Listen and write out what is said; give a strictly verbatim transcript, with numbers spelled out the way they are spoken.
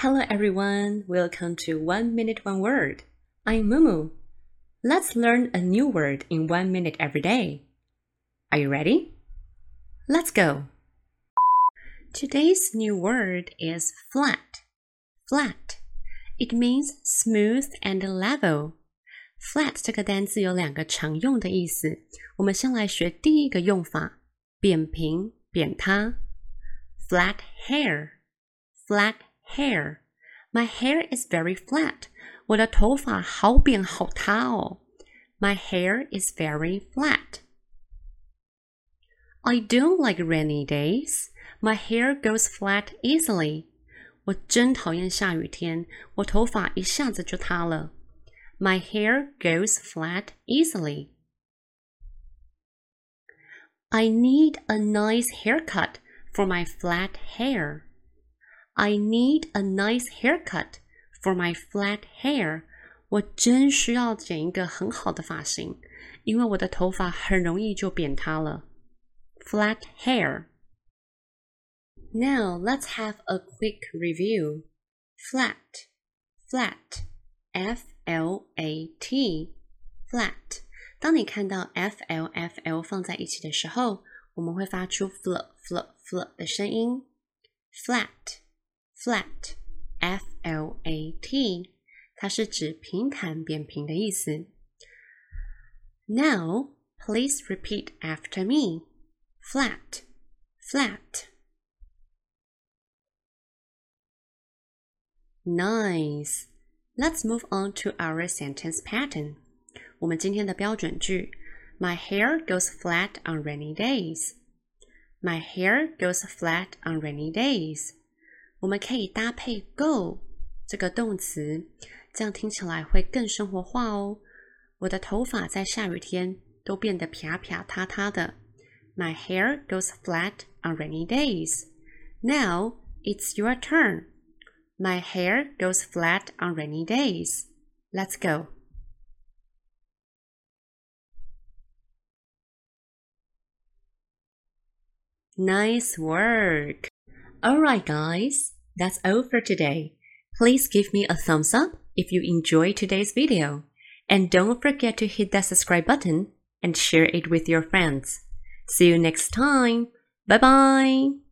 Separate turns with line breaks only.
Hello everyone, welcome to One Minute One Word. I'm Mumu. Let's learn a new word in one minute every day. Are you ready? Let's go. Today's new word is flat. Flat. It means smooth and level. Flat 这个单词有两个常用的意思，我们先来学第一个用法，扁平、扁塌。Flat hair. Flat hair. My hair is very flat. 我的头发好扁好塌哦。My hair is very flat. I don't like rainy days. My hair goes flat easily. 我真讨厌下雨天，我头发一下子就塌了。My hair goes flat easily. I need a nice haircut for my flat hair. I need a nice haircut for my flat hair. 我真需要剪一个很好的发型，因为我的头发很容易就扁塌了。Flat hair. Now let's have a quick review. Flat, flat, F L A T, flat. 当你看到 F L F L 放在一起的时候，我们会发出 fl fl fl 的声音。Flat.Flat, F L A T, 它是指平坦扁平的意思。Now, please repeat after me. Flat, flat. Nice. Let's move on to our sentence pattern. 我们今天的标准句 My hair goes flat on rainy days. My hair goes flat on rainy days.我们可以搭配 go 这个动词，这样听起来会更生活化哦。我的头发在下雨天都变得啪啪塌塌的。My hair goes flat on rainy days. Now it's your turn. My hair goes flat on rainy days. Let's go. Nice work.Alright guys, that's all for today. Please give me a thumbs up if you enjoyed today's video. And don't forget to hit that subscribe button and share it with your friends. See you next time. Bye bye.